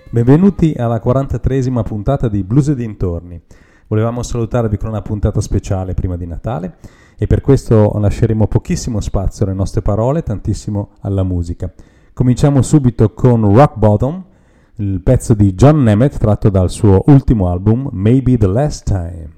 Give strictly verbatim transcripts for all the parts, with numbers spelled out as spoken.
Benvenuti alla quarantatreesima puntata di Blues e dintorni. Volevamo salutarvi con una puntata speciale prima di Natale e per questo lasceremo pochissimo spazio alle nostre parole, tantissimo alla musica. Cominciamo subito con Rock Bottom, il pezzo di John Nemeth tratto dal suo ultimo album Maybe the Last Time.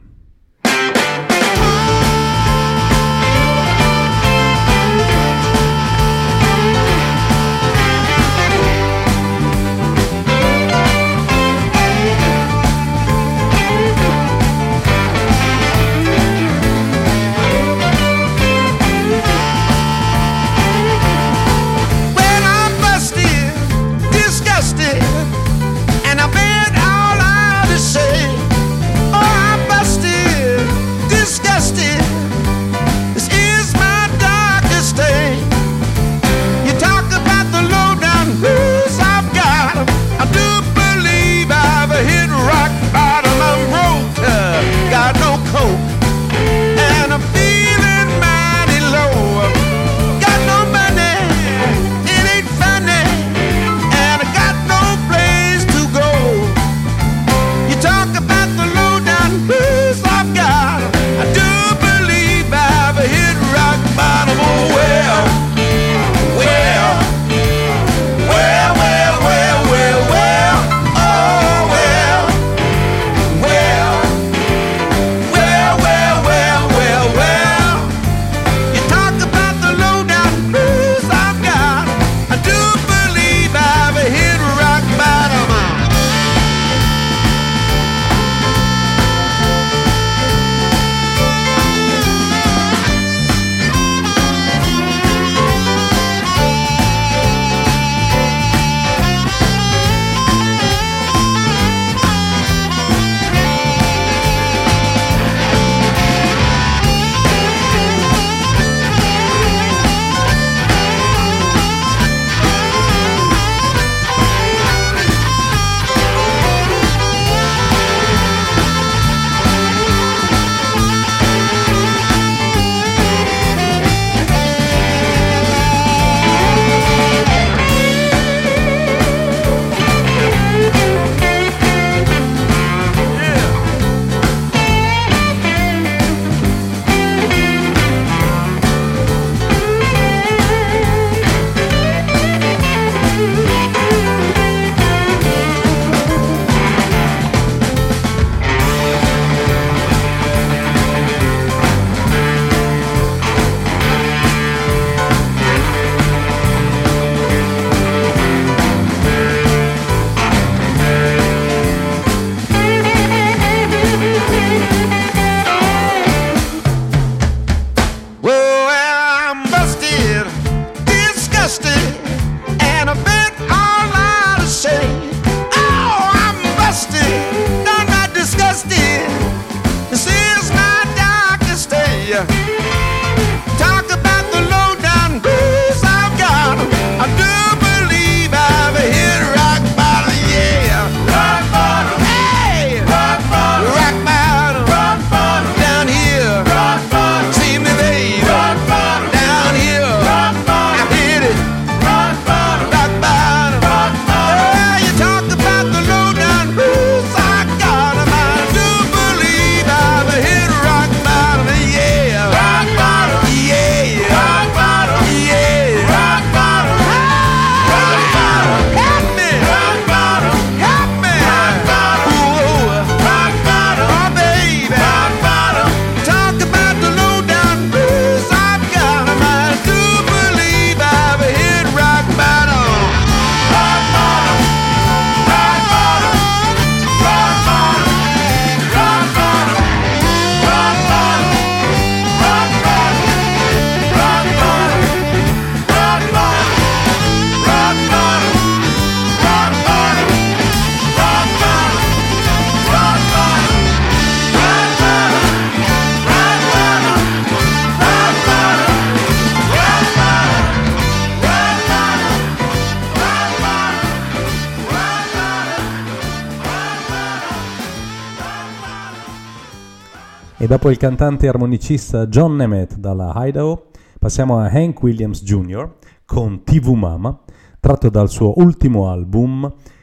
E dopo il cantante e armonicista John Nemeth dalla Idaho, passiamo a Hank Williams Junior con T V Mama, tratto dal suo ultimo album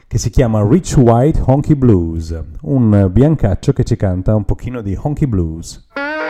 che si chiama Rich White Honky Blues, un biancaccio che ci canta un pochino di honky blues.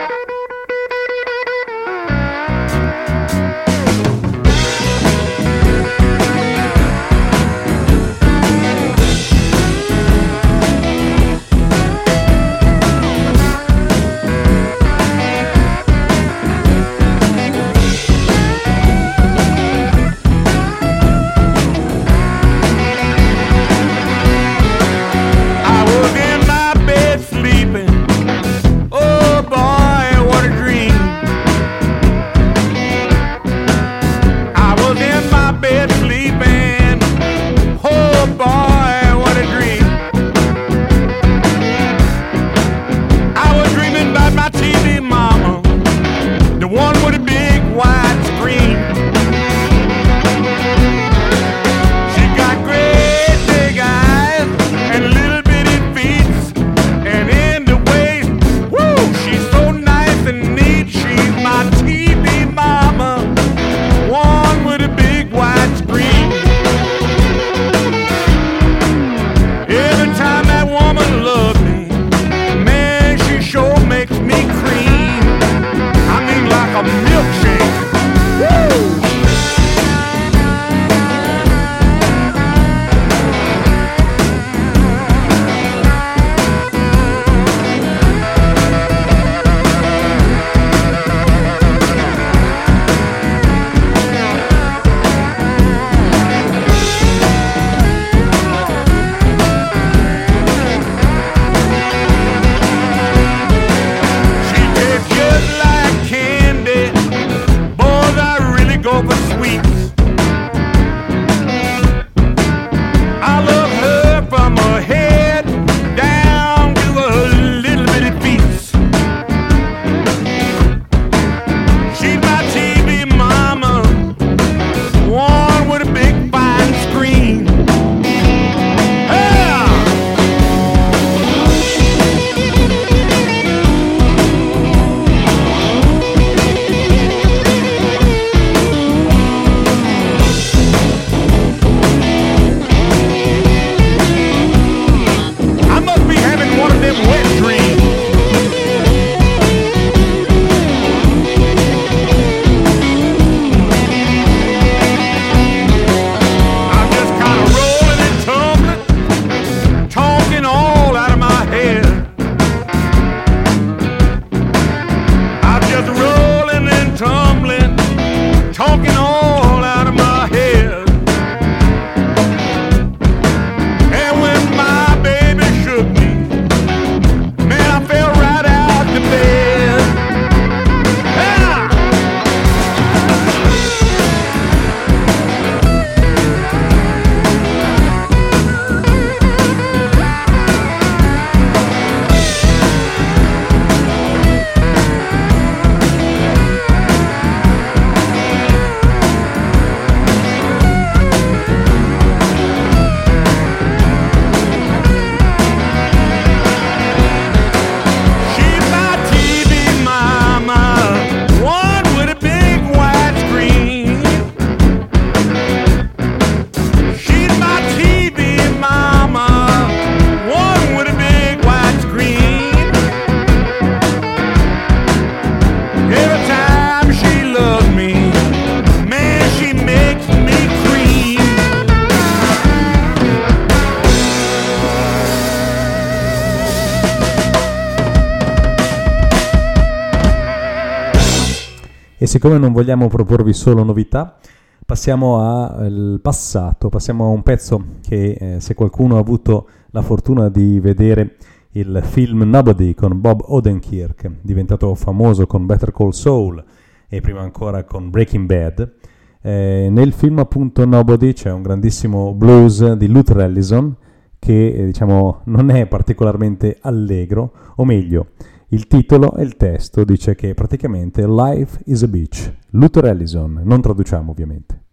E siccome non vogliamo proporvi solo novità, passiamo al passato, passiamo a un pezzo che eh, se qualcuno ha avuto la fortuna di vedere il film Nobody con Bob Odenkirk, diventato famoso con Better Call Saul e prima ancora con Breaking Bad, eh, nel film appunto Nobody c'è un grandissimo blues di Luther Allison che eh, diciamo non è particolarmente allegro, o meglio, il titolo e il testo dice che praticamente Life is a Beach. Luther Allison, non traduciamo ovviamente.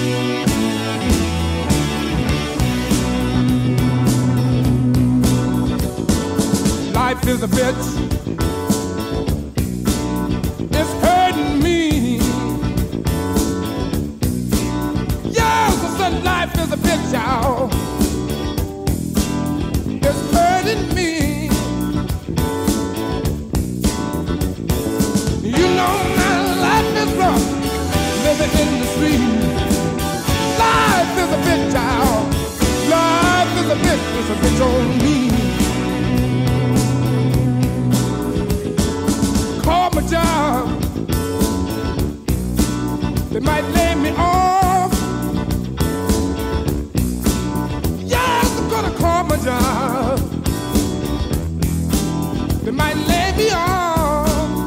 Life is a bitch. It's hurting me. Yes, I said life is a bitch, y'all. sweet. Life is a bitch, child. Life is a bitch, it's a bitch on me. Call my job. They might lay me off. Yes, I'm gonna call my job. They might lay me off.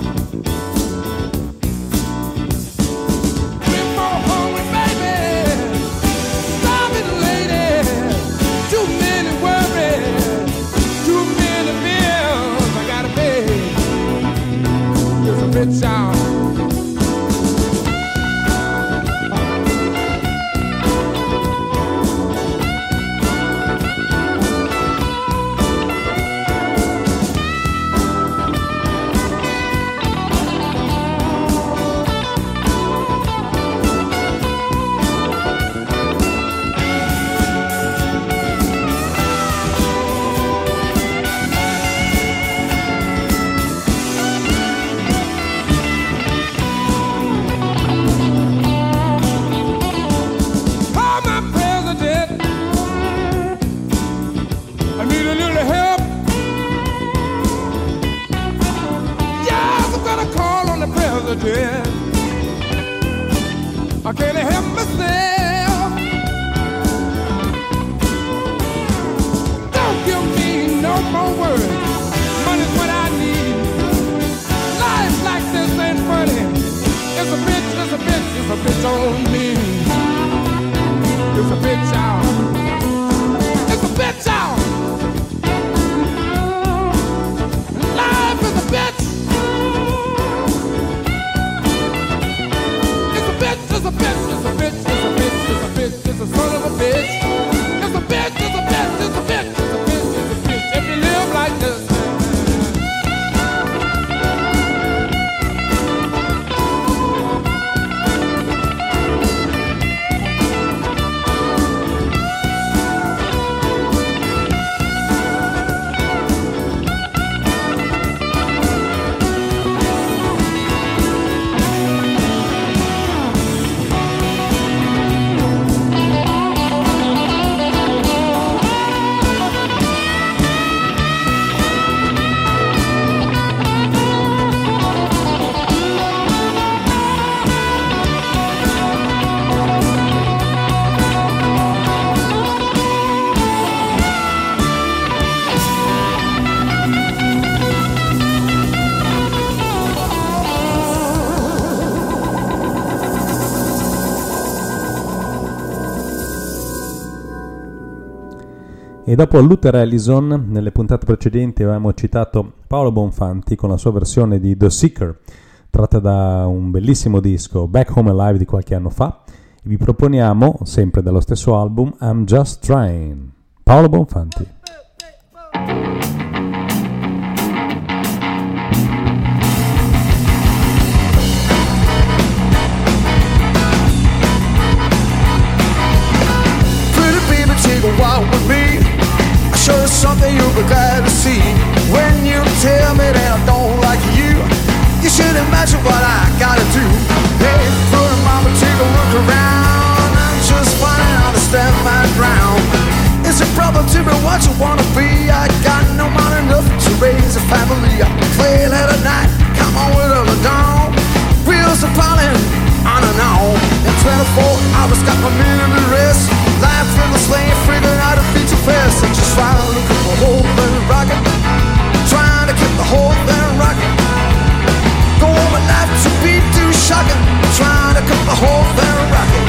Three, four hungry baby, starving lady, too many worries, too many bills I gotta pay. It's a bitch out. I can't help myself. Don't give me no more words. Money's what I need. Life like this ain't funny. It's a bitch, it's a bitch, it's a bitch on me. It's a bitch out. It's a bitch out. Life is a bitch. It's a bitch, it's a bitch, it's a bitch, it's a bitch, it's a son of a bitch. It's a bitch, it's a bitch, it's a bitch, it's a bitch, it's a bitch. If you live like this. E dopo Luther Allison, nelle puntate precedenti avevamo citato Paolo Bonfanti con la sua versione di The Seeker, tratta da un bellissimo disco Back Home Alive di qualche anno fa, e vi proponiamo, sempre dallo stesso album, I'm Just Trying. Paolo Bonfanti. Take a walk with me. I'll show you something you'll be glad to see. When you tell me that I don't like you, you should imagine what I gotta do. Hey, little mama, take a look around. I'm just fine, I understand my ground. It's a problem to be what you wanna be. I got no money enough to raise a family. I play late at night, come on with the dawn. Wheels are falling on and on. In twenty-four hours, got my minute to rest. Life in the slave, figuring out a feature fest. I'm just trying to keep the whole thing rocking. Trying to keep the whole thing rocking. Don't want my life to be too shocking. Trying to keep the whole thing rocking.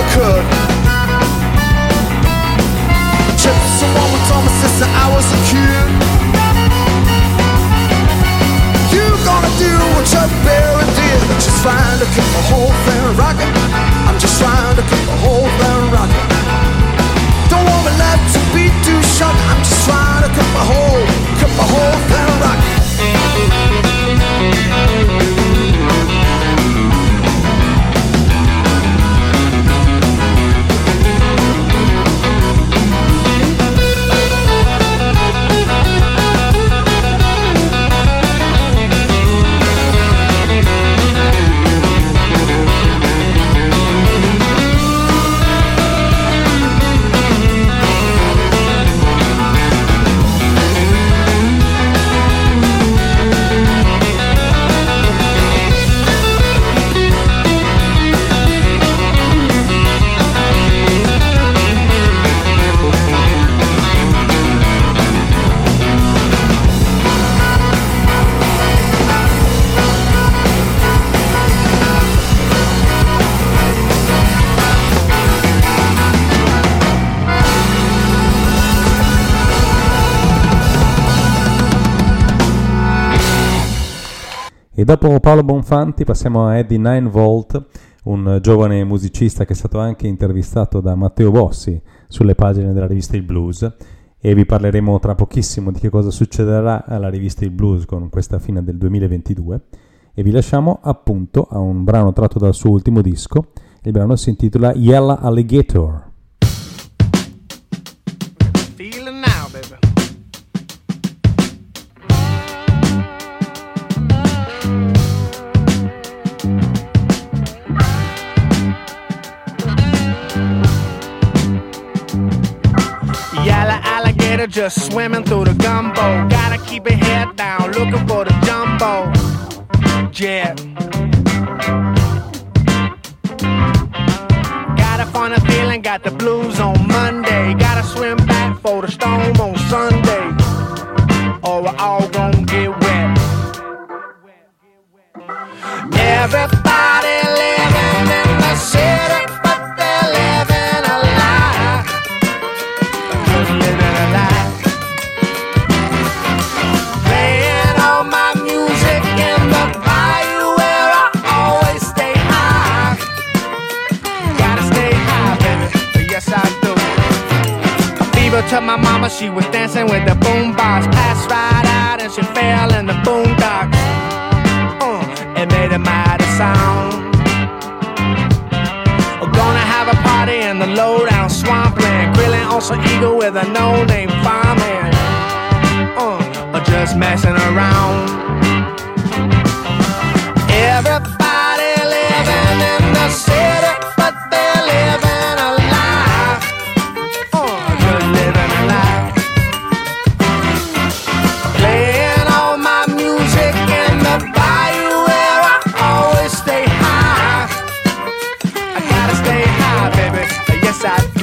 could. Just someone who told me since I was a kid. You gonna do what Chuck Berry did. Just trying to keep the whole thing rocking. I'm just trying to keep the whole thing rocking. Don't want my life to be too short. I'm just trying to keep the whole, keep the whole thing rocking. E dopo Paolo Bonfanti passiamo a Eddie Nine Volt, un giovane musicista che è stato anche intervistato da Matteo Bossi sulle pagine della rivista Il Blues, e vi parleremo tra pochissimo di che cosa succederà alla rivista Il Blues con questa fine del duemilaventidue, e vi lasciamo appunto a un brano tratto dal suo ultimo disco. Il brano si intitola Yellow Alligator. Feeling now, baby. Yellow alligator just swimming through the gumbo. Gotta keep your head down, looking for the jumbo. Yeah. Got a funny feeling, got the blues on Monday. Gotta swim back for the storm on Sunday, or we're all gonna get wet. Everybody living in the city, but they're living a lie. Just living a lie. Playing all my music in the bayou where I always stay high. Gotta stay high, baby. Yes, I do. A fever to my mama, she was dancing with the boombox. Passed right out and she fell in the boondocks. Uh, it made a mighty sound. We're gonna have a party in the low-down swampland, grilling on some eagle with a no-name fireman. Uh, or just messing around. Everybody living in the city, but they're living a lie. Uh, just living a lie. Playing all my music in the bayou where I always stay high. I gotta stay high, baby. Yes, I do.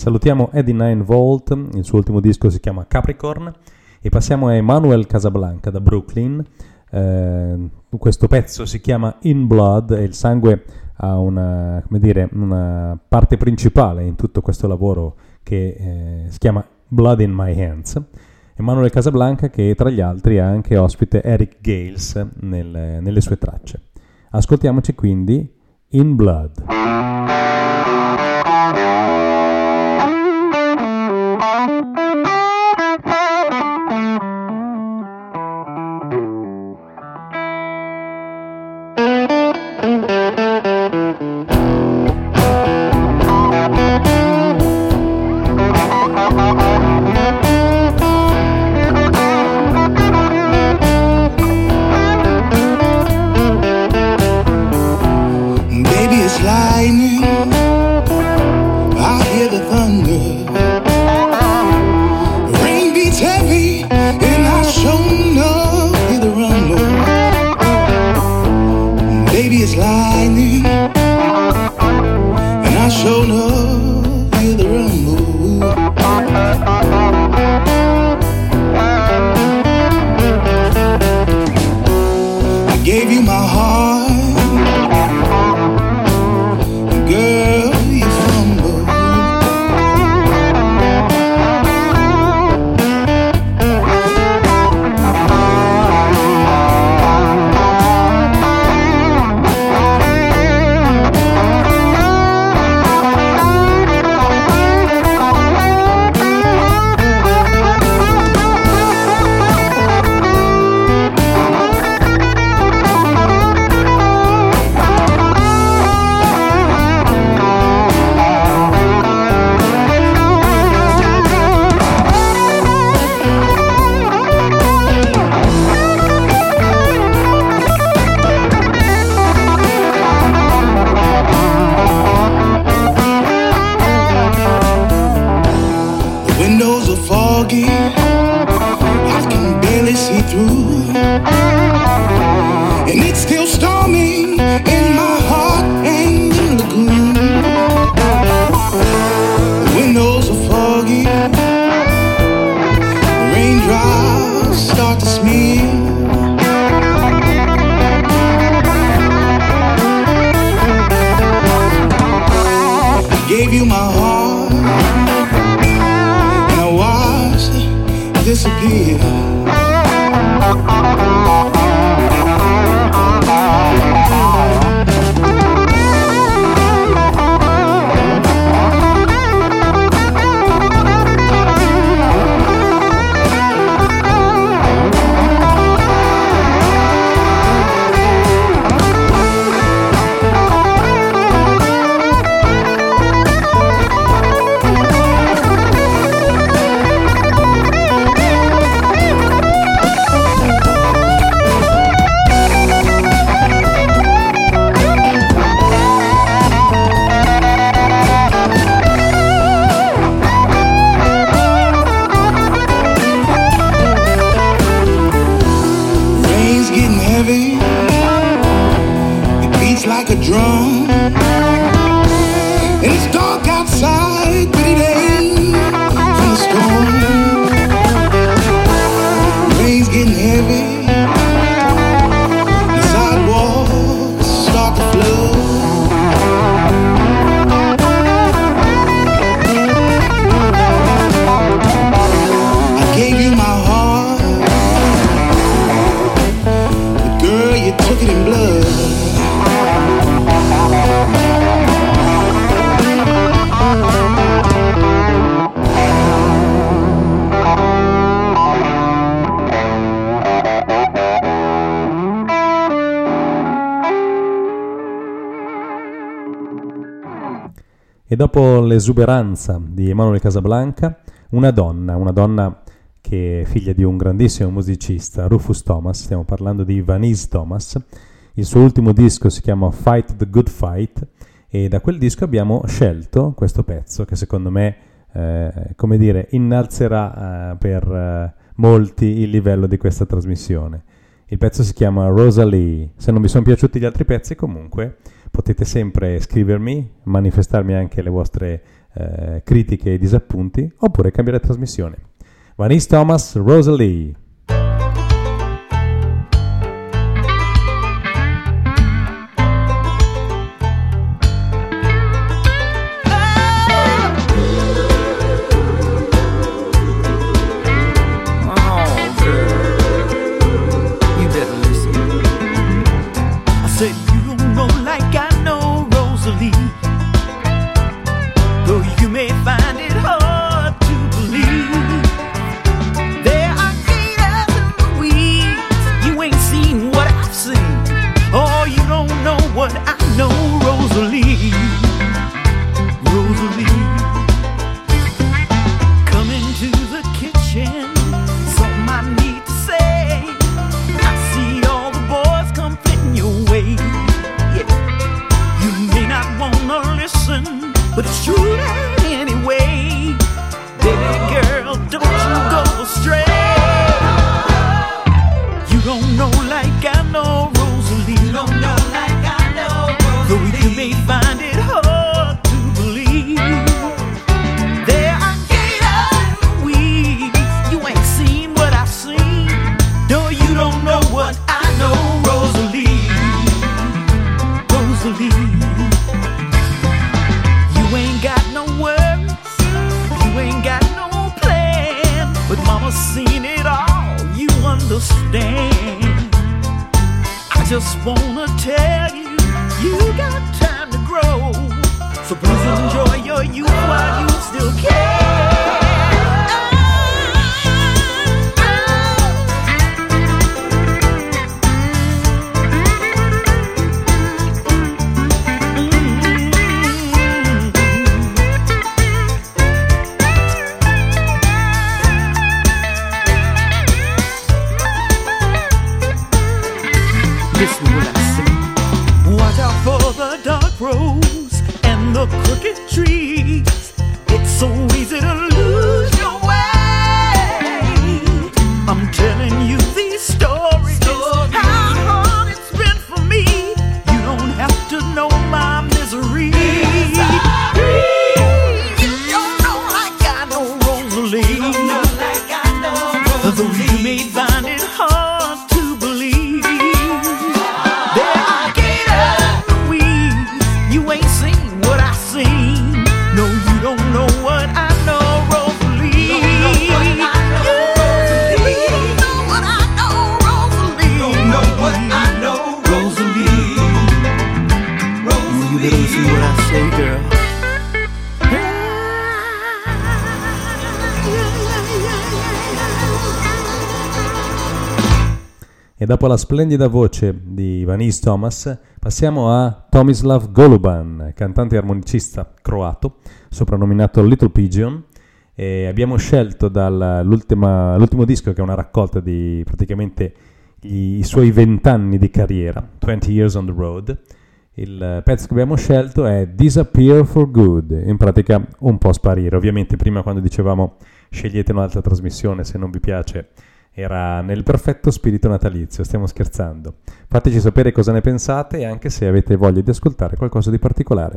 Salutiamo Eddie Nine Volt, il suo ultimo disco si chiama Capricorn, e passiamo a Emmanuel Casablanca da Brooklyn. Eh, questo pezzo si chiama In Blood e il sangue ha una, come dire, una parte principale in tutto questo lavoro che eh, si chiama Blood in My Hands. Emmanuel Casablanca, che tra gli altri ha anche ospite Eric Gales nel, nelle sue tracce. Ascoltiamoci quindi In Blood. E dopo l'esuberanza di Emmanuel Casablanca, una donna, una donna che è figlia di un grandissimo musicista, Rufus Thomas, stiamo parlando di Vanese Thomas. Il suo ultimo disco si chiama Fight the Good Fight e da quel disco abbiamo scelto questo pezzo che secondo me, eh, come dire, innalzerà eh, per eh, molti il livello di questa trasmissione. Il pezzo si chiama Rosalie. Se non vi sono piaciuti gli altri pezzi, comunque potete sempre scrivermi, manifestarmi anche le vostre eh, critiche e disappunti, oppure cambiare trasmissione. Vanice Thomas, Rosalie. E dopo la splendida voce di Vanice Thomas passiamo a Tomislav Goluban, cantante e armonicista croato, soprannominato Little Pigeon, e abbiamo scelto dall'ultimo disco, che è una raccolta di praticamente i, i suoi vent'anni di carriera, twenty years on the road. Il pezzo che abbiamo scelto è Disappear for Good, in pratica un po' sparire. Ovviamente prima, quando dicevamo scegliete un'altra trasmissione se non vi piace, era nel perfetto spirito natalizio, stiamo scherzando. Fateci sapere cosa ne pensate e anche se avete voglia di ascoltare qualcosa di particolare.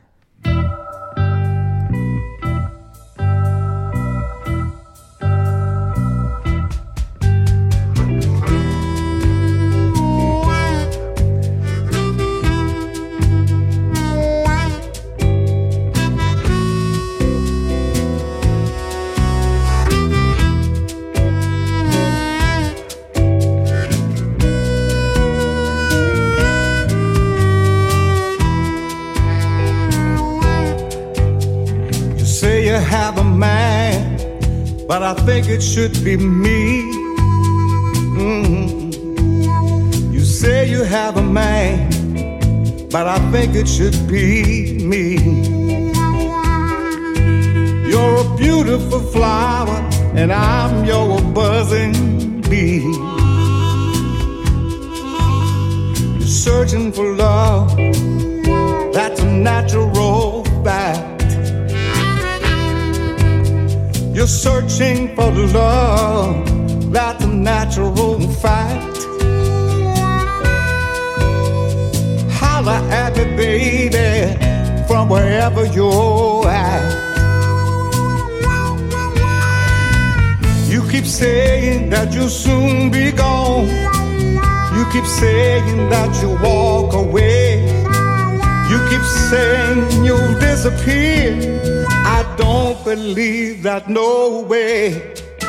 Have a man, but I think it should be me. Mm-hmm. You say you have a man, but I think it should be me. You're a beautiful flower, and I'm your buzzing bee. You're searching for love, that's a natural fact. You're searching for love, that's a natural fact. Holla at me, baby, from wherever you're at. You keep saying that you'll soon be gone. You keep saying that you'll walk away. You keep saying you'll disappear. I don't believe that, no way.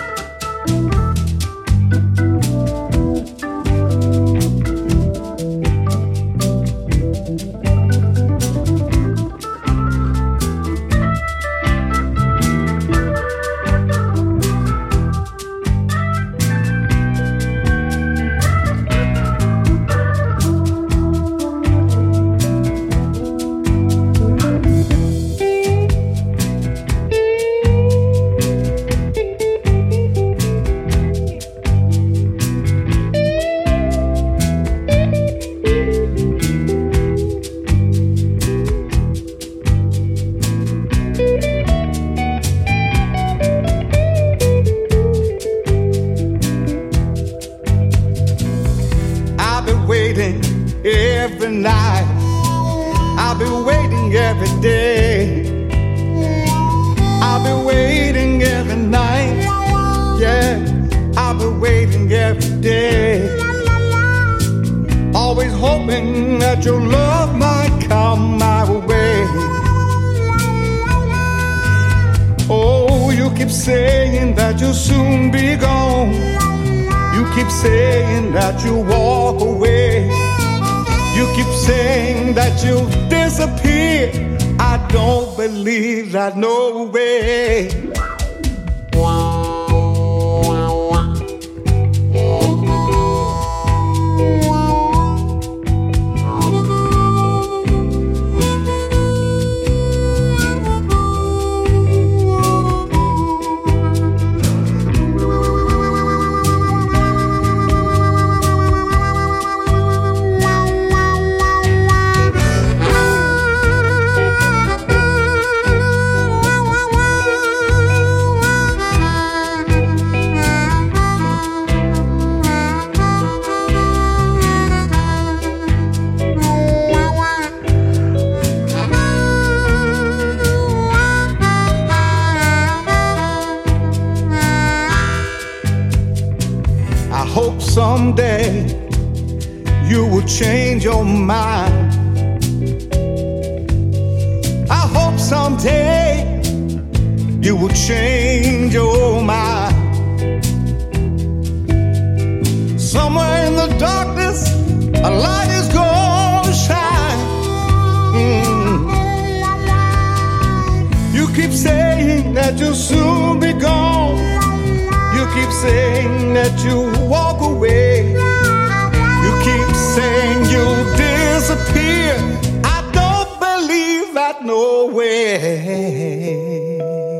Someday you will change your mind. I hope someday you will change your mind. Somewhere in the darkness a light is gonna shine. Mm. You keep saying that you'll soon be gone. You keep saying that you'll walk away. You keep saying you'll disappear. I don't believe that, no way.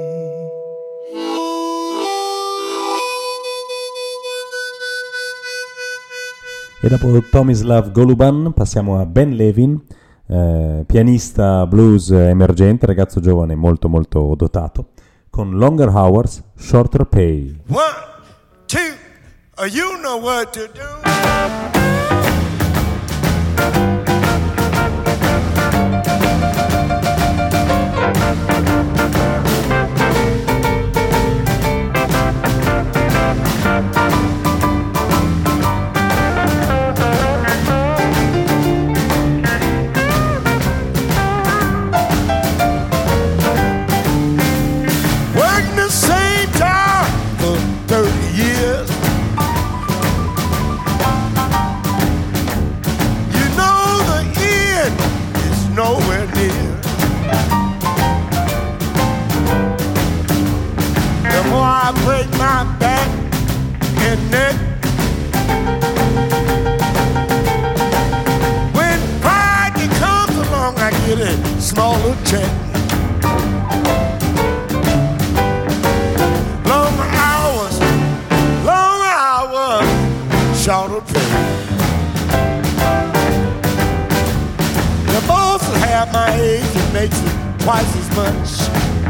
E dopo Tomislav Goluban passiamo a Ben Levin, eh, pianista blues emergente, ragazzo giovane molto molto dotato, con Longer Hours, Shorter Pay. One, two, uh, you know what to do. Smaller check, long hours, long hours, shorter pay. The boss will have my age and makes it twice as much.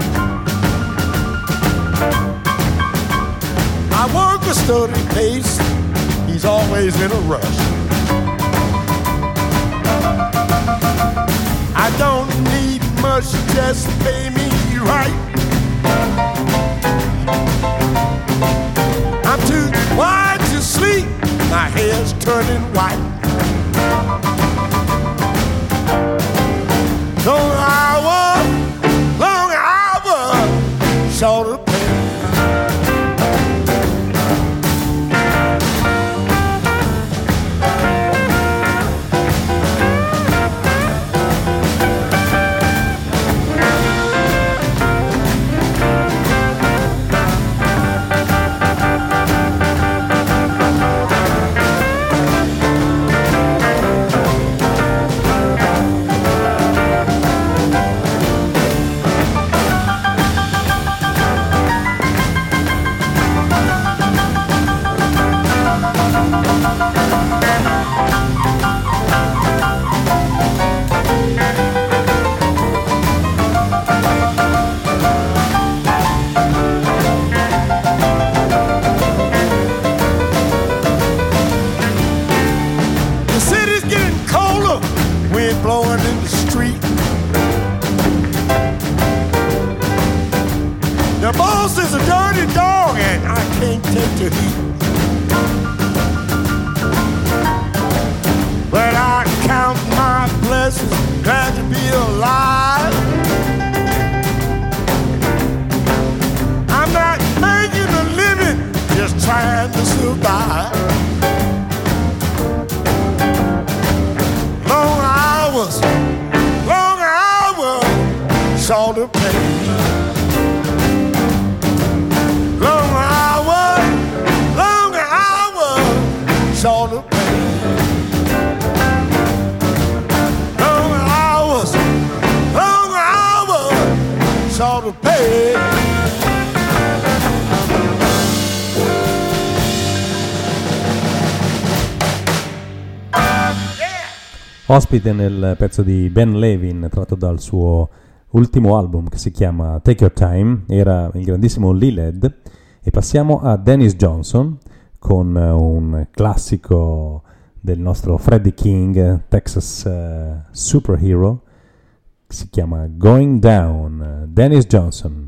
I work a steady pace, he's always in a rush. I don't need much much, just pay me right. I'm too wide to sleep, my hair's turning white. Long hour, long hour, shorter pay. Blowing in the street. The boss is a dirty dog and I can't take the heat. But I count my blessings, glad to be alive. I'm not making a living, just trying to survive. Long hours, long hours, shorter pay. Long hours, long hours, shorter pay. Long hours, long hours, shorter pay. Ospite nel pezzo di Ben Levin tratto dal suo ultimo album che si chiama Take Your Time era il grandissimo Lee Led, e passiamo a Dennis Johnson con un classico del nostro Freddie King, Texas uh, Superhero, che si chiama Going Down. Dennis Johnson.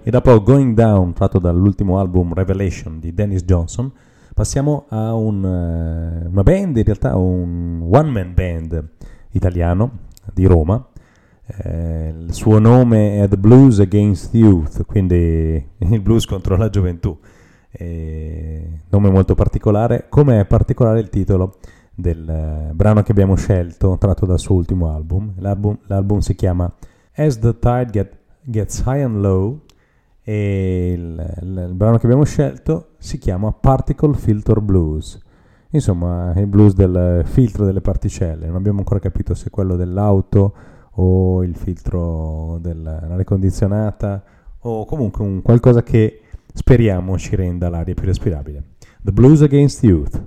E dopo Going Down, tratto dall'ultimo album Revelation di Dennis Johnson, passiamo a un, uh, una band, in realtà un one-man band italiano di Roma. Eh, il suo nome è The Blues Against Youth, quindi il blues contro la gioventù. Eh, nome molto particolare, come è particolare il titolo del uh, brano che abbiamo scelto, tratto dal suo ultimo album. L'album, l'album si chiama As the Tide Get, Gets High and Low, e il, il, il brano che abbiamo scelto si chiama Particle Filter Blues, insomma il blues del filtro delle particelle. Non abbiamo ancora capito se è quello dell'auto o il filtro dell'aria condizionata o comunque un qualcosa che speriamo ci renda l'aria più respirabile. The Blues Against Youth.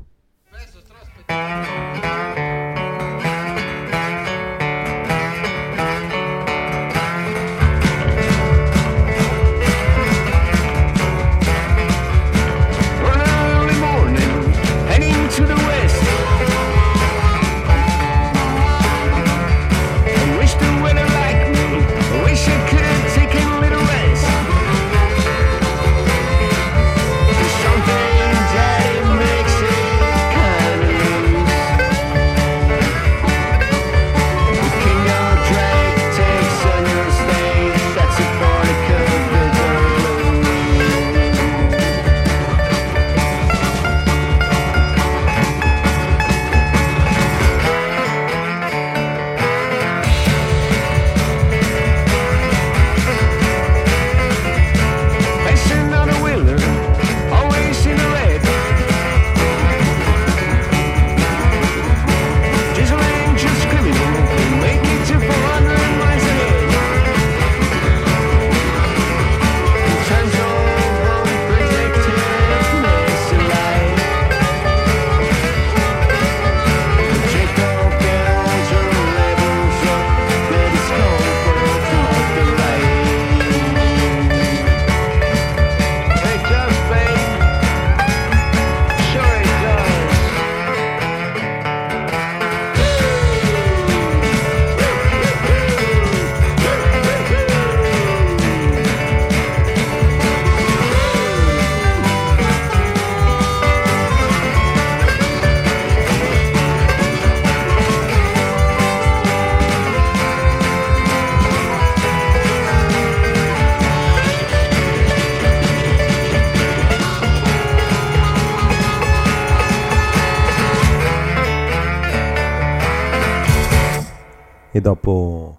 E dopo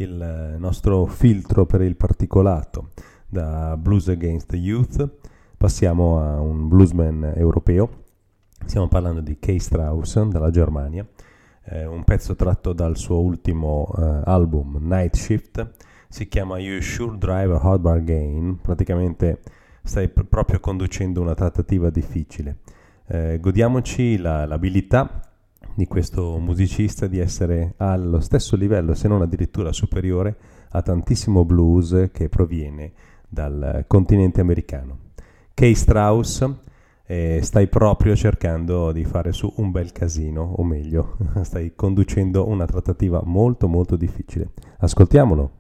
il nostro filtro per il particolato da Blues Against the Youth passiamo a un bluesman europeo. Stiamo parlando di Kay Strauss dalla Germania, eh, un pezzo tratto dal suo ultimo eh, album Night Shift. Si chiama You Sure Drive a Hard Bargain. Praticamente stai pr- proprio conducendo una trattativa difficile. Eh, godiamoci la, l'abilità di questo musicista di essere allo stesso livello, se non addirittura superiore, a tantissimo blues che proviene dal continente americano. Kay Strauss, eh, stai proprio cercando di fare su un bel casino, o meglio, stai conducendo una trattativa molto molto difficile. Ascoltiamolo.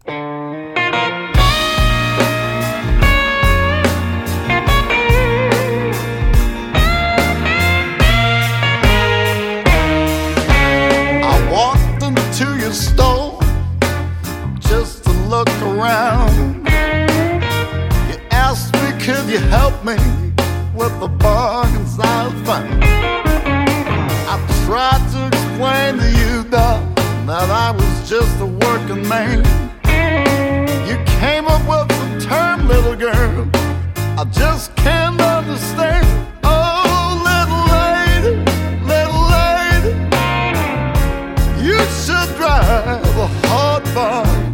Store just to look around. You asked me, could you help me with the bargains I found? I tried to explain to you, darling, that I was just a working man. You came up with the term, little girl, I just can't understand. Oh, little lady, little lady, you should drive a hard bargain.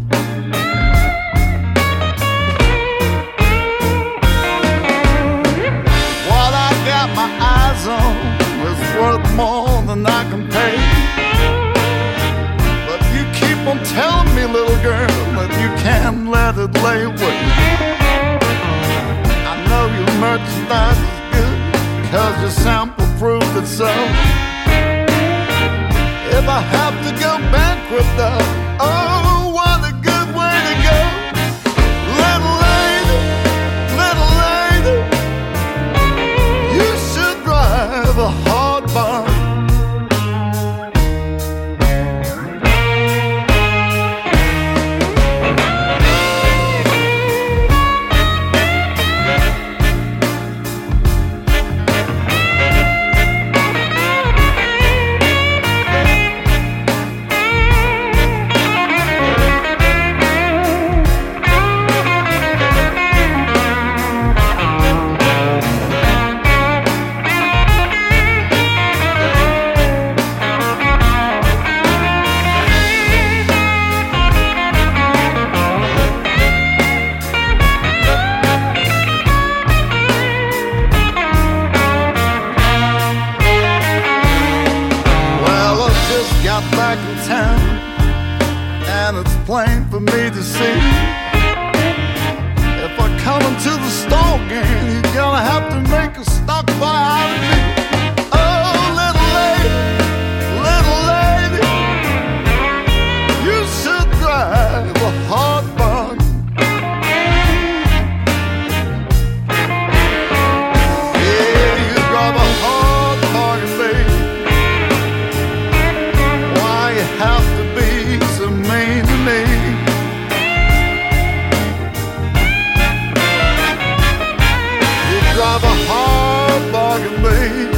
What I got my eyes on is worth more than I can pay. But you keep on telling me, little girl, that you can't let it lay away. I know your merchandise is good, cause your sample proved it so. If I have to go bankrupt, oh, what a good way to go. Little lady, need to see. If I come into the store again, you're gonna have to make a stock buy out of me. Oh, little lady, little lady, you should drive a hard bargain. Yeah, you drive a hard bargain, baby. Why you have to be so mean to me? Drive a hard bargain, babe.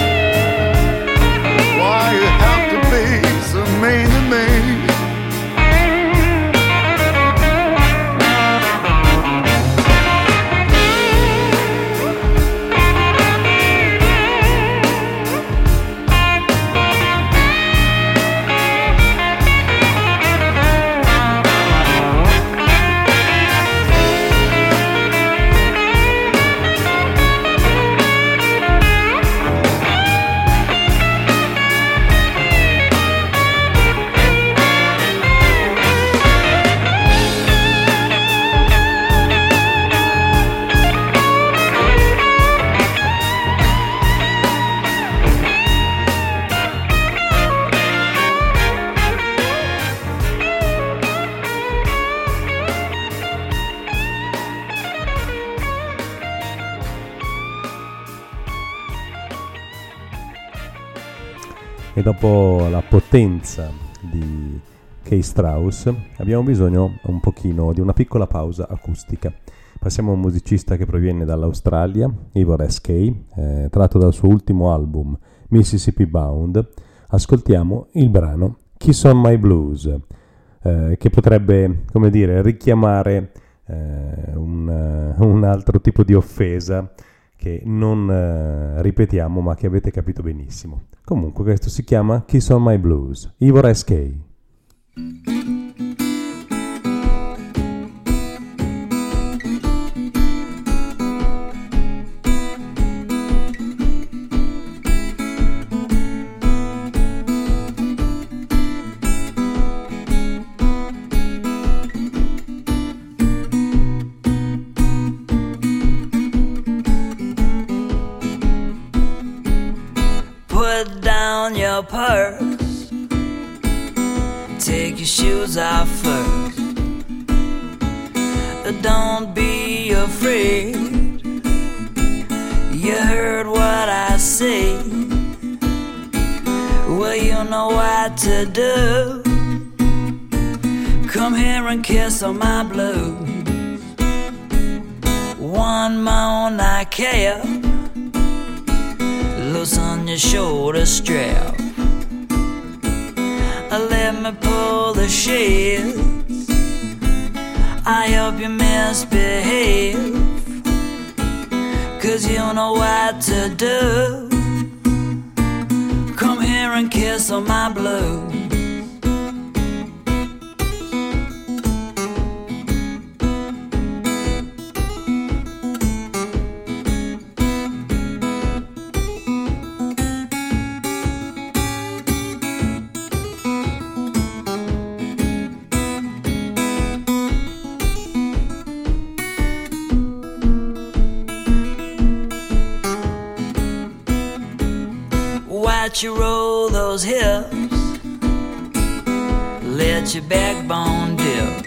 Why you have to be so mean to me? E dopo la potenza di Kay Strauss abbiamo bisogno un pochino di una piccola pausa acustica. Passiamo a un musicista che proviene dall'Australia, Ivor S. Kay, eh, tratto dal suo ultimo album Mississippi Bound. Ascoltiamo il brano Kiss on My Blues, eh, che potrebbe, come dire, richiamare eh, un, un altro tipo di offesa che non eh, ripetiamo ma che avete capito benissimo. Comunque questo si chiama Kiss on My Blues, Ivor S. Kay. Put down your purse, take your shoes off first. Don't be afraid, you heard what I say. Well, you know what to do. Come here and kiss on my blues. One more night care, loosen your shoulder strap. Let me pull the shades. I hope you misbehave, 'cause you know what to do. Come here and kiss on my blues. Watch you roll those hips, let your backbone dip.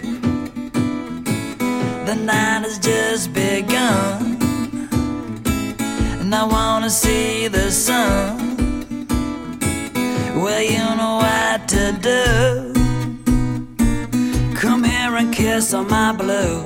The night has just begun, and I wanna see the sun. Well, you know what to do. Come here and kiss on my blues.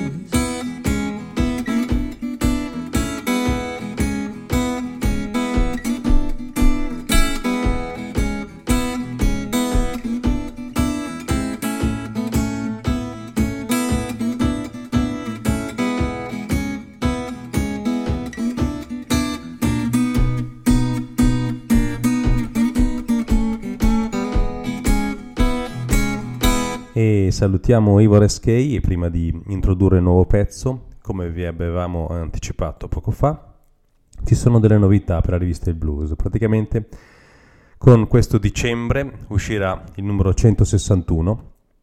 E salutiamo Ivor S. Kay, e prima di introdurre il nuovo pezzo, come vi avevamo anticipato poco fa, ci sono delle novità per la rivista Il Blues. Praticamente con questo dicembre uscirà il numero centosessantuno,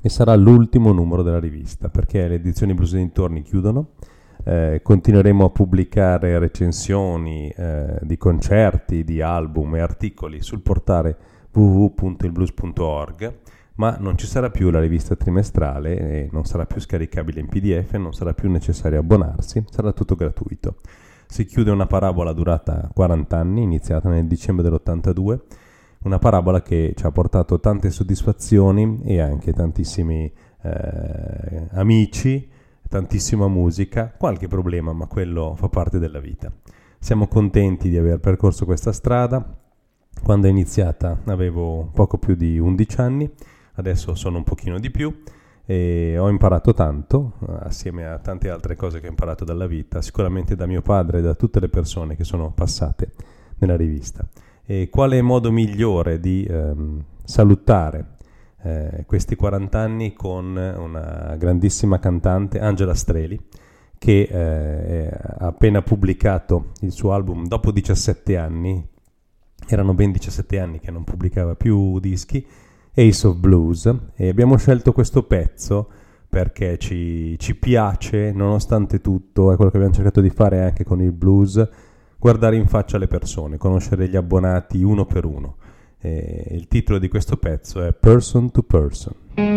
e sarà l'ultimo numero della rivista, perché le edizioni Blues e dintorni chiudono. Eh, continueremo a pubblicare recensioni eh, di concerti, di album e articoli sul portale w w w punto il blues punto org, ma non ci sarà più la rivista trimestrale e non sarà più scaricabile in P D F, non sarà più necessario abbonarsi, sarà tutto gratuito. Si chiude una parabola durata quaranta anni, iniziata nel dicembre dell'ottantadue, una parabola che ci ha portato tante soddisfazioni e anche tantissimi eh, amici, tantissima musica, qualche problema, ma quello fa parte della vita. Siamo contenti di aver percorso questa strada. Quando è iniziata avevo poco più di undici anni, adesso sono un pochino di più e ho imparato tanto, assieme a tante altre cose che ho imparato dalla vita, sicuramente da mio padre e da tutte le persone che sono passate nella rivista. E quale modo migliore di ehm, salutare Eh, questi quaranta anni con una grandissima cantante, Angela Streli, che eh, ha appena pubblicato il suo album dopo diciassette anni, erano ben diciassette anni che non pubblicava più dischi, Ace of Blues, e abbiamo scelto questo pezzo perché ci, ci piace, nonostante tutto, è quello che abbiamo cercato di fare anche con il blues, guardare in faccia le persone, conoscere gli abbonati uno per uno. E il titolo di questo pezzo è Person to Person.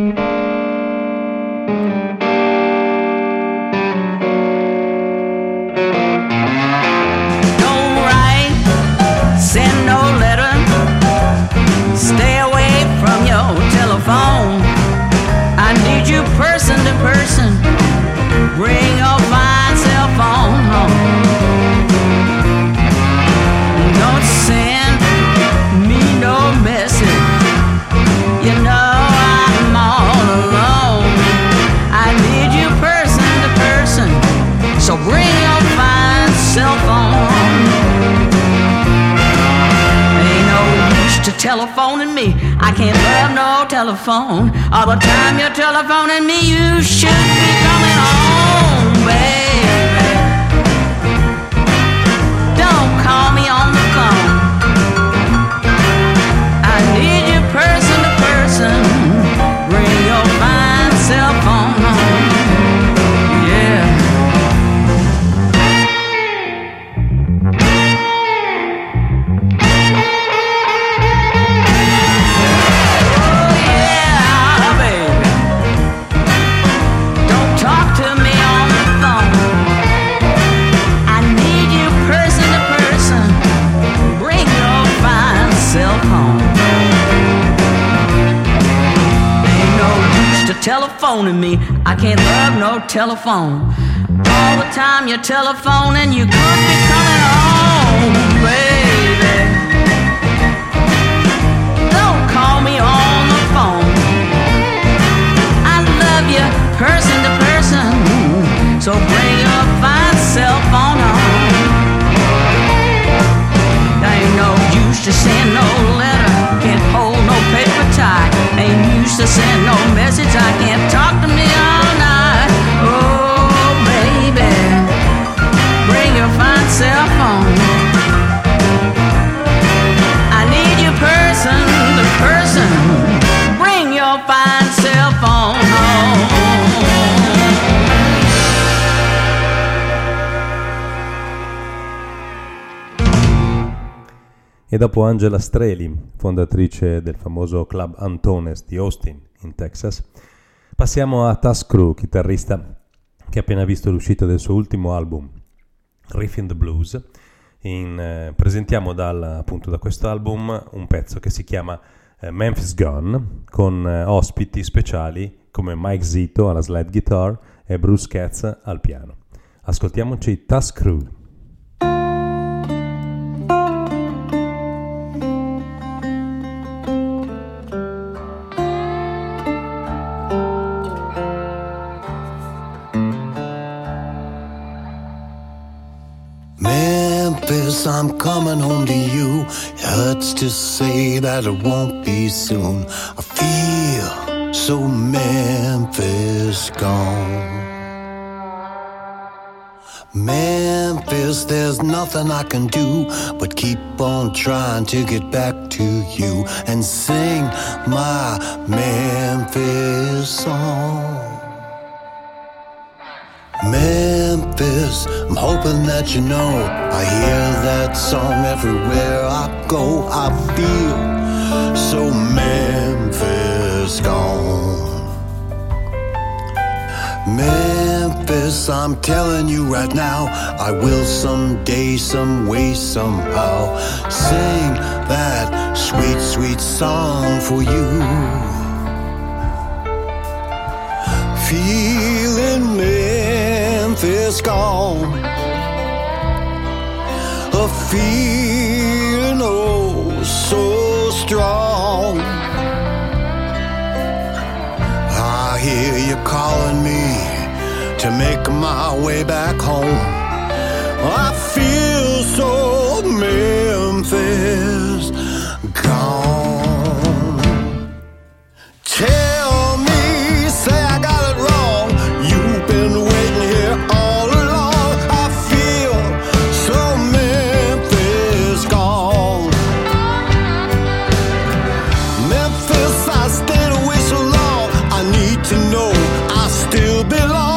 Don't write, send no letter, stay away from your telephone. I need you person to person, bring your fine cell phone home. Don't send me no message, you know I'm all alone. I need you person to person, so bring your fine cell phone. Ain't no use to telephoning me, I can't love no telephone. All the time you're telephoning me, you should be coming home, baby. Don't call me on the phone, I need you person to person, bring your fine cell phone home, yeah. Oh yeah, baby, don't talk to me on the phone, I need you person to person, bring your fine cell phone. Telephoning me, I can't love no telephone. All the time you're telephoning, you could be coming home, baby. Don't call me on the phone, I love you person to person, so bring your fine cell phone home. There ain't no use to send no letter, can't hold no paper tie, ain't used to send no message, I can't talk to me all night. Oh baby, bring your fine cell phone, I need you person to person, bring your fine cell phone home. E dopo Angela Streli, fondatrice del famoso Club Antones di Austin, in Texas, passiamo a Tusk Crew, chitarrista che ha appena visto l'uscita del suo ultimo album, Riffin' the Blues. In, eh, presentiamo dal, appunto da questo album un pezzo che si chiama eh, Memphis Gone, con eh, ospiti speciali come Mike Zito alla slide guitar e Bruce Katz al piano. Ascoltiamoci Tusk Crew. Memphis, I'm coming home to you. It hurts to say that it won't be soon. I feel so Memphis gone. Memphis, there's nothing I can do but keep on trying to get back to you and sing my Memphis song. Memphis, I'm hoping that you know I hear that song everywhere I go. I feel so Memphis gone. Memphis, I'm telling you right now, I will someday, some way, somehow sing that sweet, sweet song for you. Feeling Memphis gone, a feeling oh so strong. I hear you calling me to make my way back home. I feel so Memphis gone. Tell me, say I got it wrong. You've been waiting here all along. I feel so Memphis gone. Memphis, I stayed away so long. I need to know I still belong.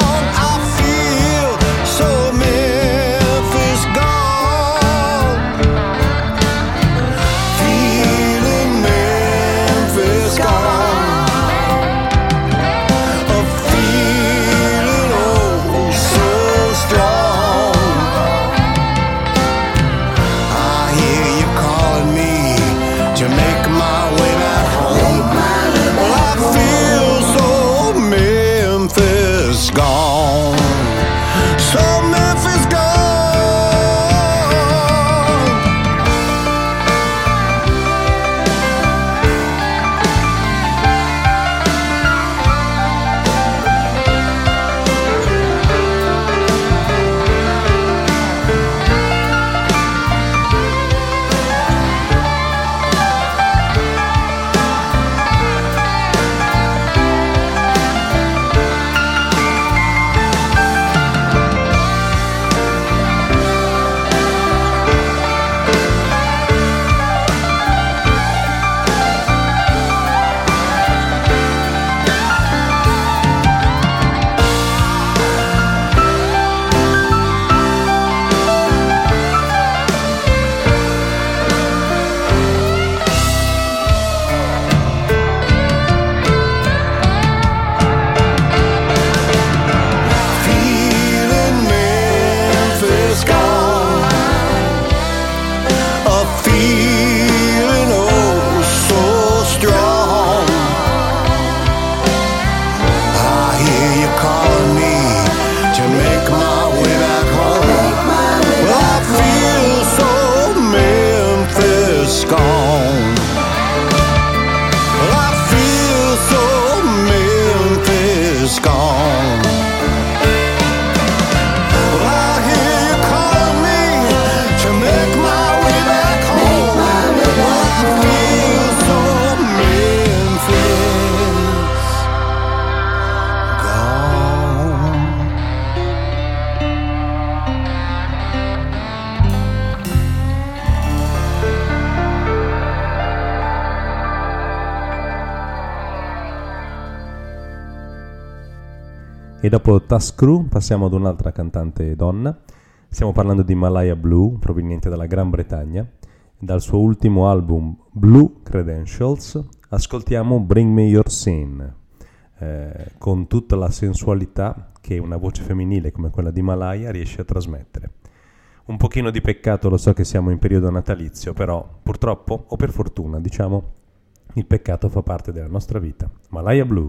E dopo Tusk Crew passiamo ad un'altra cantante donna. Stiamo parlando di Malaya Blue, proveniente dalla Gran Bretagna. Dal suo ultimo album Blue Credentials ascoltiamo Bring Me Your Sin, eh, con tutta la sensualità che una voce femminile come quella di Malaya riesce a trasmettere. Un pochino di peccato, lo so che siamo in periodo natalizio, però purtroppo, o per fortuna, diciamo, il peccato fa parte della nostra vita. Malaya Blue.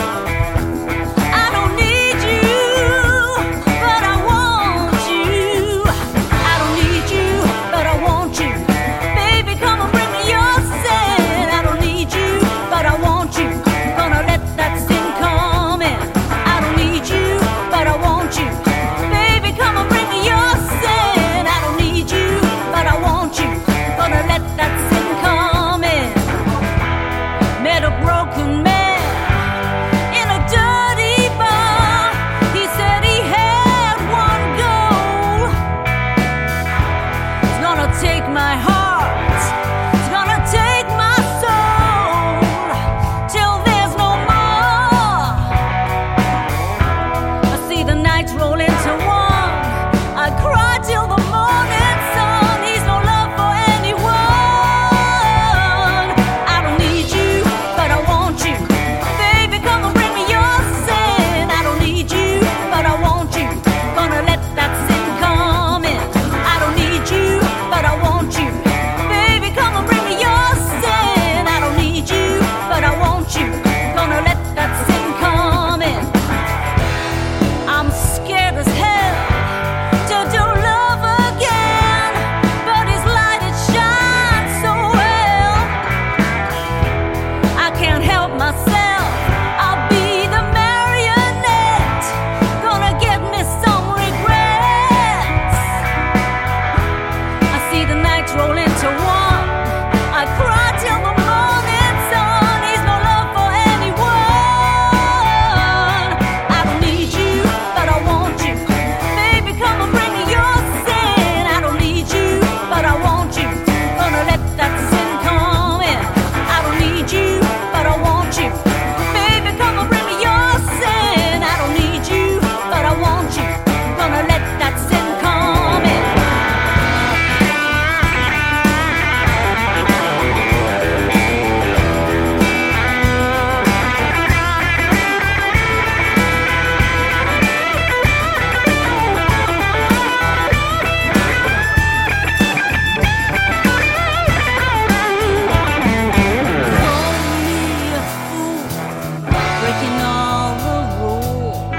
I don't need you, but I want you. take my heart, it's gonna take my soul, till there's no more. I see the nights roll into one, I cry till the morning sun. He's no love for anyone. I don't need you, but I want you. Baby, come and bring me your sin. I don't need you, but I want you. Gonna let that sin come in. I don't need you, but I want you. Baby, come and bring me your sin. I don't need you, but I want you. Gonna let that sin come in. I'm scared as hell to do love again, but his light, it shines so well. I can't help myself, I'll be the marionette, gonna get me some regrets. I see the nights roll into one, I cry till the morning sun. He's no love for anyone. I don't need you, but I want you. Baby, come and bring me your sin. I don't need you, but I want you. Gonna let that sin come in. I don't need you, but I want you. Baby, come and bring me your sin. I don't need you, but I want you. Gonna let that sin come in. Breaking all the rules,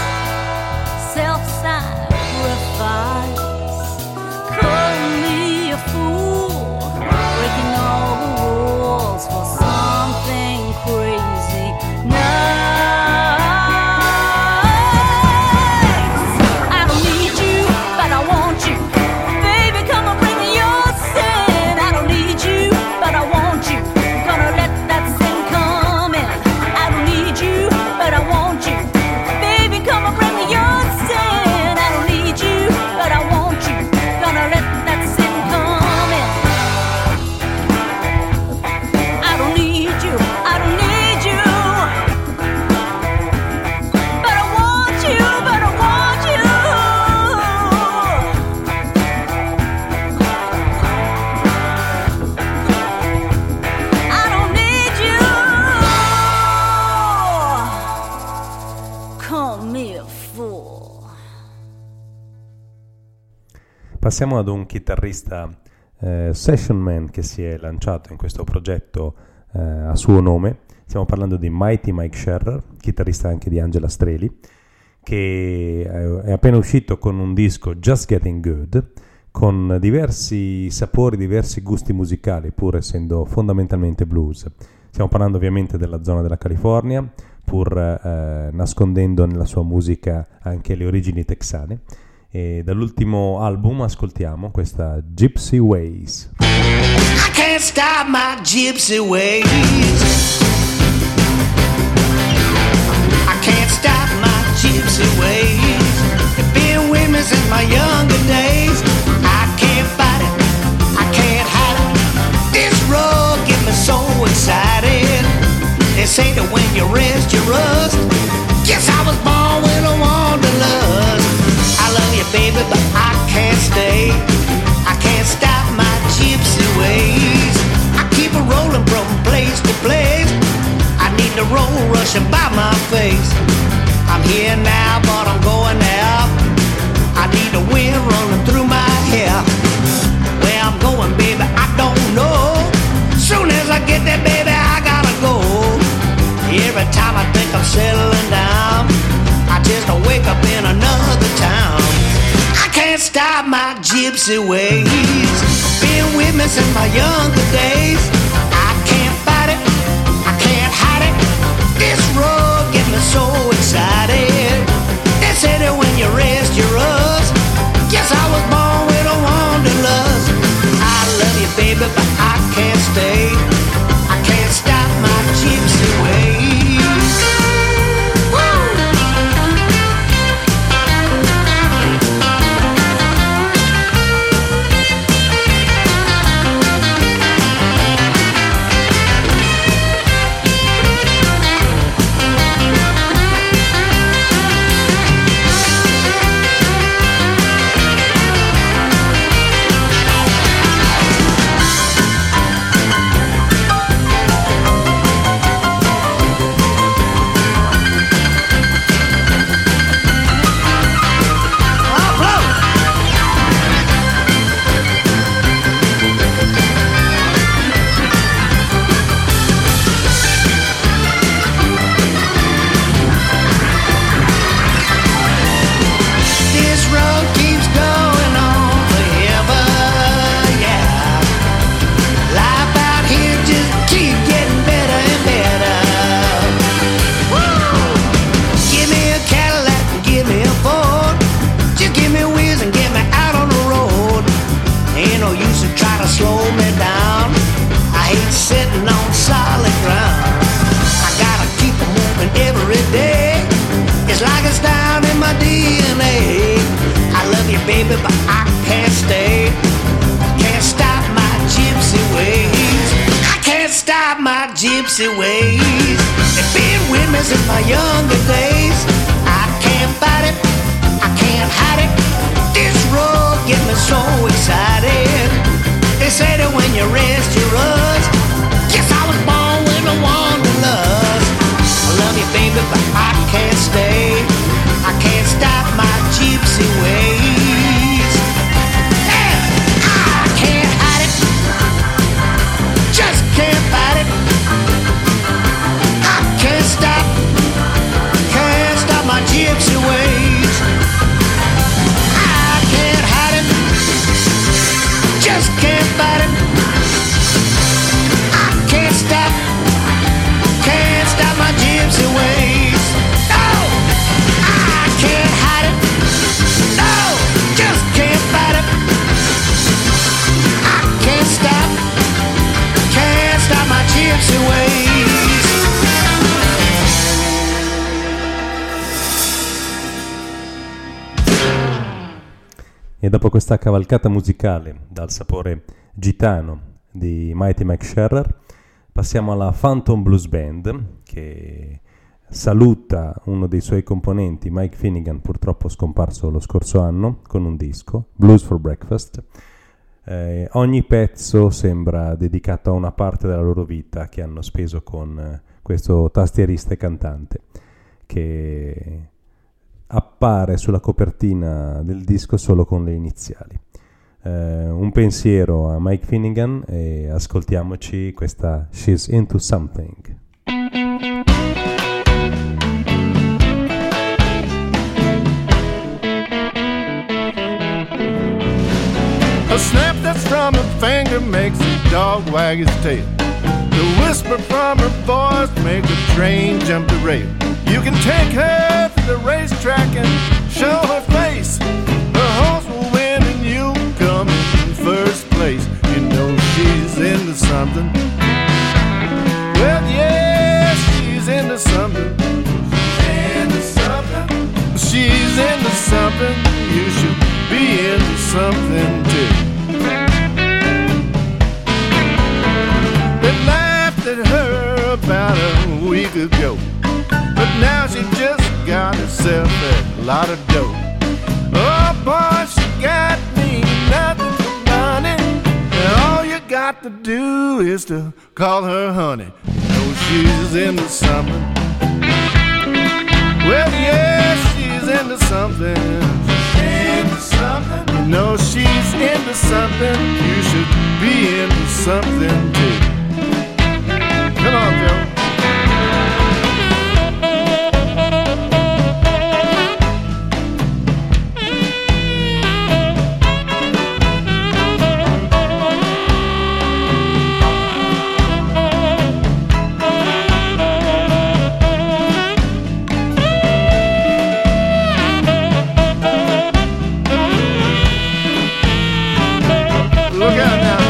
self-sacrifice. Call me a fool, breaking all the rules for something crazy nice. I don't need you, but I want you. Baby, come and bring me your sin. I don't need you, but I want you. Gonna let that sin come in. I don't need you, but I want you. Baby, come and bring me your sin. I don't need you, but I want you. Gonna let that sin come in. I don't need you, I don't need you, but I want you, but I want you. I don't need you. Call me a fool. Passiamo ad un chitarrista eh, session man che si è lanciato in questo progetto eh, a suo nome. Stiamo parlando di Mighty Mike Sherrer, chitarrista anche di Angela Streli, che eh, è appena uscito con un disco Just Getting Good, con diversi sapori, diversi gusti musicali, pur essendo fondamentalmente blues. Stiamo parlando ovviamente della zona della California, pur eh, nascondendo nella sua musica anche le origini texane. E dall'ultimo album ascoltiamo questa Gypsy Ways. I can't stop my gypsy ways. I can't stop my gypsy ways. They've been with me since my younger days. I can't fight it, I can't hide it. This road gets me so excited. They say that when you rest, you rust. Guess I was born with a wanderlust. I love you, baby, but I can't stay. I can't stop my gypsy ways. I keep a rolling from place to place. I need the road rushing by my face. I'm here now, but I'm going there. I need the wind running through my hair. Where I'm going, baby, I don't know. Soon as I get there, baby, I gotta go. Every time I think I'm settling down, I just wake up in another town. I can't stop my gypsy ways. Been with me since my younger days. I can't fight it, I can't hide it. This road gets me so excited. They say that when you rest, you rust. Guess I was born with a wanderlust. I love you, baby, but I can't stay. I can't stop my gypsy ways. girl used to try to slow me down. I hate sitting on solid ground. I gotta keep moving every day. It's like it's down in my D N A. I love you, baby, but I can't stay. Can't stop my gypsy ways. I can't stop my gypsy ways. They've been with me since my younger days. I can't fight it, I can't hide it. This road gets me so excited. They say that when you rest, you rust. Guess I was born with a wanderlust. I love you, baby, but I can't stay. I can't stop my gypsy ways. Yeah, I can't hide it. Just can't fight it. I can't stop. Can't stop my gypsy ways. I can't hide it. Just can't fight it. I can't stop. Can't stop my gypsy ways. No, I can't hide it. No, just can't fight it. I can't stop. Can't stop my gypsy ways. E dopo questa cavalcata musicale dal sapore gitano di Mighty Mike Sherrer, passiamo alla Phantom Blues Band, che saluta uno dei suoi componenti, Mike Finnegan, purtroppo scomparso lo scorso anno, con un disco, Blues for Breakfast. Eh, ogni pezzo sembra dedicato a una parte della loro vita che hanno speso con eh, questo tastierista e cantante, che appare sulla copertina del disco solo con le iniziali. Eh, un pensiero a Mike Finnegan e ascoltiamoci questa She's Into Something. A snap that's from her finger makes a dog wag his tail. The whisper from her voice makes a train jump the rail. You can take her to the racetrack and show her face. Her horse will win and you come in first place. You know she's into something. Well, yeah, she's into something. She's into something. She's into something. You should be into something too. They laughed at her about a week ago, but now she just got herself a lot of dough. Oh boy, she got me nothing but money, and all you got to do is to call her honey. Oh, she's into something. Well, yeah, she's into something. She's into something. You know she's into something. You should be into something too. Come on, Joe. Look out now.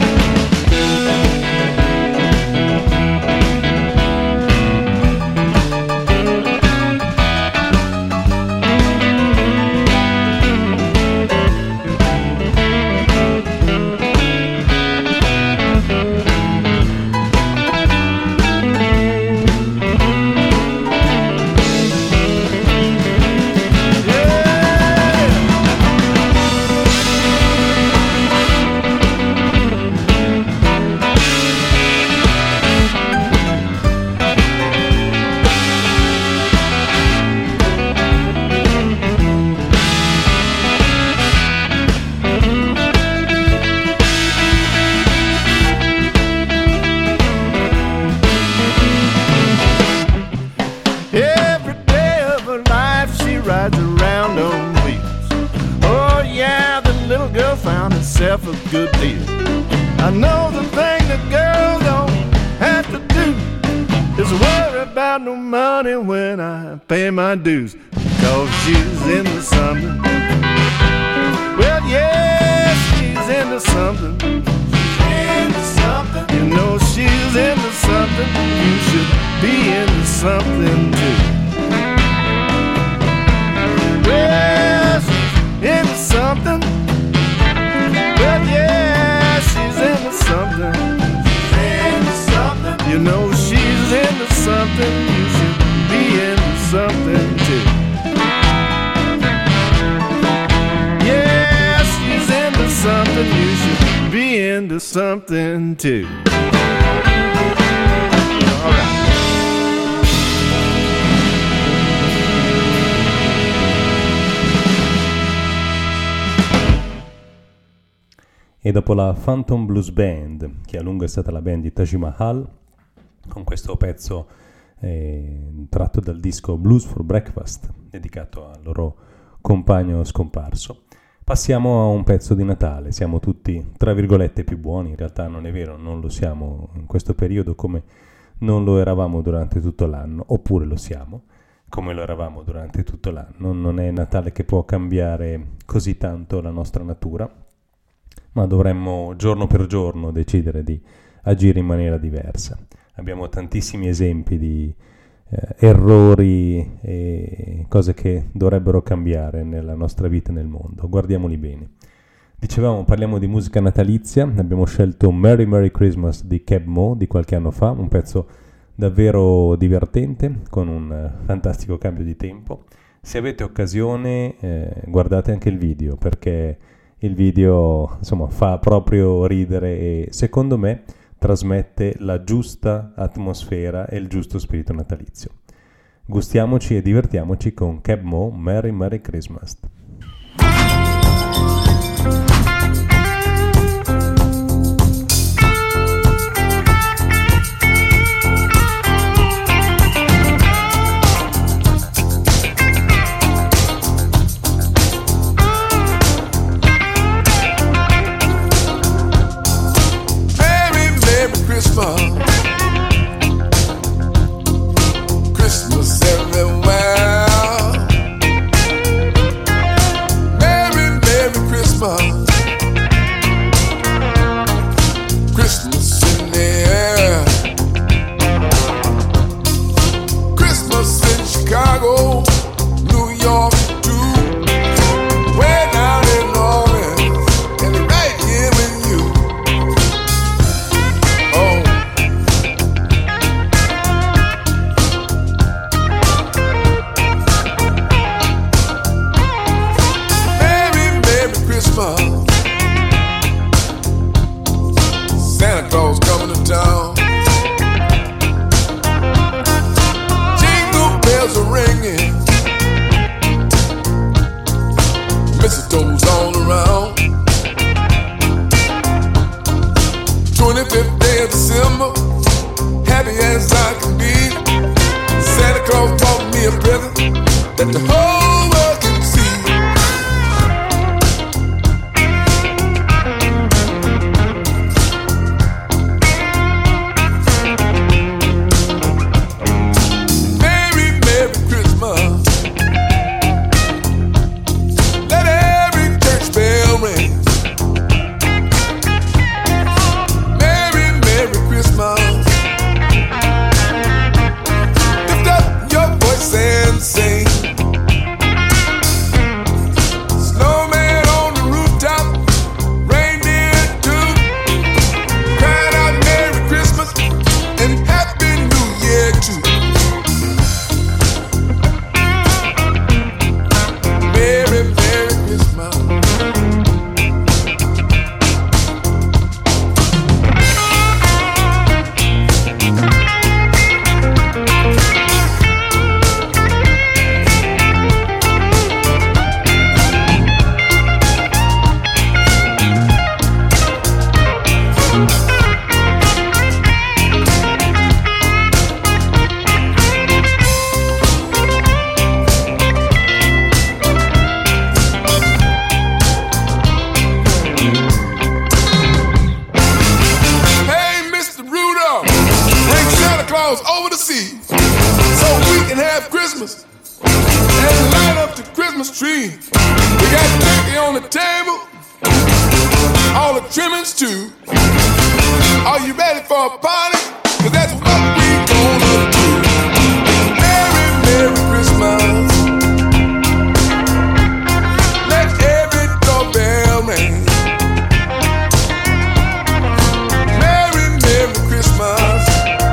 rides around on wheels. Oh yeah, the little girl found herself a good deal. I know the thing the girl don't have to do is worry about no money when I pay my dues, because she's into something. Well, yeah, she's into into something. Into something. You know she's into something. You should be into something too. Well, she's into something. Well, yeah, she's into something. She's into something. You know she's into something. You should be into something too. Yeah, she's into something. You should be into something too. All right. E dopo la Phantom Blues Band, che a lungo è stata la band di Taj Mahal, con questo pezzo eh, tratto dal disco Blues for Breakfast, dedicato al loro compagno scomparso, passiamo a un pezzo di Natale. Siamo tutti, tra virgolette, più buoni. In realtà non è vero, non lo siamo in questo periodo come non lo eravamo durante tutto l'anno, oppure lo siamo come lo eravamo durante tutto l'anno. Non è Natale che può cambiare così tanto la nostra natura, ma dovremmo giorno per giorno decidere di agire in maniera diversa. Abbiamo tantissimi esempi di eh, errori e cose che dovrebbero cambiare nella nostra vita e nel mondo. Guardiamoli bene. Dicevamo, parliamo di musica natalizia. Abbiamo scelto Merry Merry Christmas di Keb Mo di qualche anno fa, un pezzo davvero divertente con un uh, fantastico cambio di tempo. Se avete occasione eh, guardate anche il video, perché il video, insomma, fa proprio ridere e secondo me trasmette la giusta atmosfera e il giusto spirito natalizio. Gustiamoci e divertiamoci con Keb Mo, Merry Merry Christmas. Christmas everywhere. Merry, Merry Christmas. Christmas in the air. Christmas in Chicago, New York too. Way down in New Orleans, and right here with you. Oh. Santa Claus coming to town. Jingle bells are ringing. Mistletoe's all around. twenty-fifth day of December, happy as I can be. Santa Claus brought me a present that the whole world can see. Sing trimmings too. Are you ready for a party? 'Cause that's what we gonna do. Merry, Merry Christmas. Let every doorbell ring. Merry, Merry Christmas.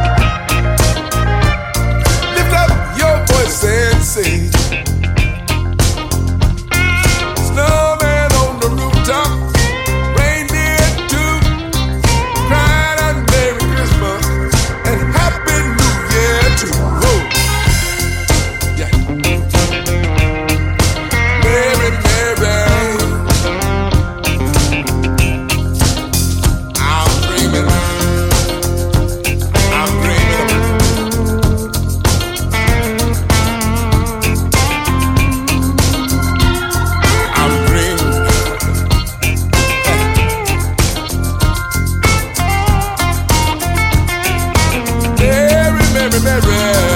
Lift up your voice and say, snowman on the rooftop, reindeer too, crying out Merry Christmas and Happy New Year too. Whoa. Yeah. Merry, Merry, I'm dreaming, I'm dreaming. I'm dreaming. Merry, Merry, Merry.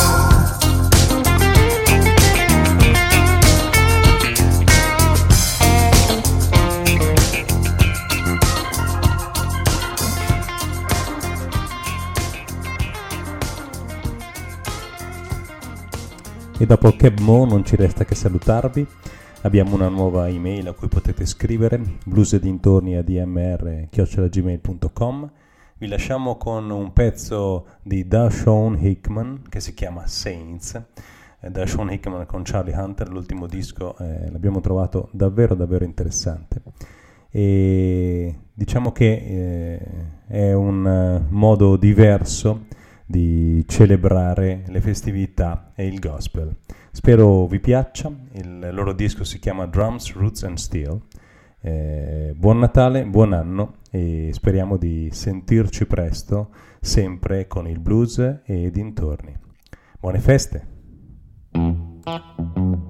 E dopo Keb Mo non ci resta che salutarvi. Abbiamo una nuova email a cui potete scrivere, bluesedintorni a d m r chiocciola gmail punto com. Vi lasciamo con un pezzo di Dashawn Hickman che si chiama Saints. Eh, Dashawn Hickman con Charlie Hunter, l'ultimo disco, eh, l'abbiamo trovato davvero davvero interessante. E diciamo che eh, è un eh, modo diverso di celebrare le festività e il gospel. Spero vi piaccia. Il loro disco si chiama Drums, Roots and Steel. Eh, buon Natale, buon anno e speriamo di sentirci presto, sempre con il blues e dintorni. Buone feste!